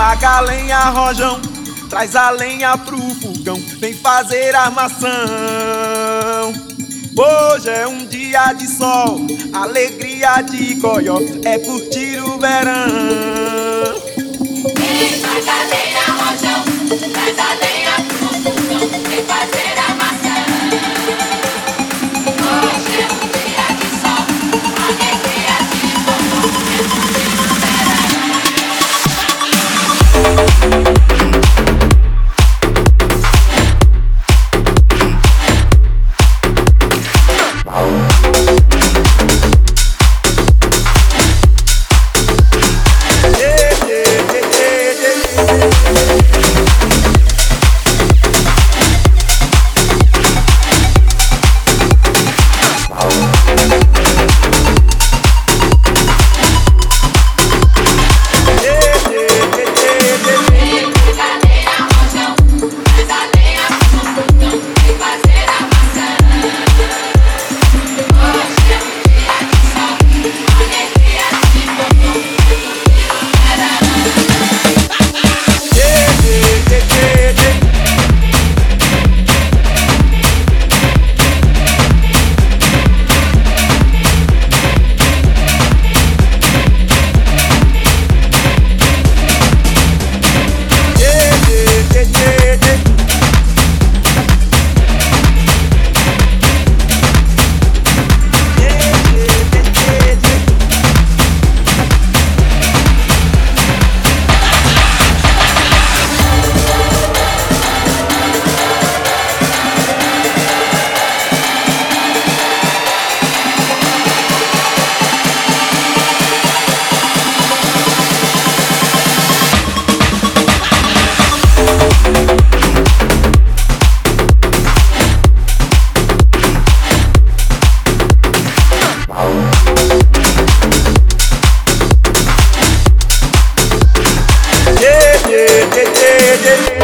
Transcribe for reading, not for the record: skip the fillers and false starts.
Traga a lenha, rojão, traz a lenha pro fogão, vem fazer armação. Hoje é um dia de sol, alegria de goió, é curtir o verão. Vem, traz a lenha, rojão, traz a lenha pro fogão, vem fazer armação. Hoje é um dia de sol, alegria de goió, é curtir o verão. Yeah.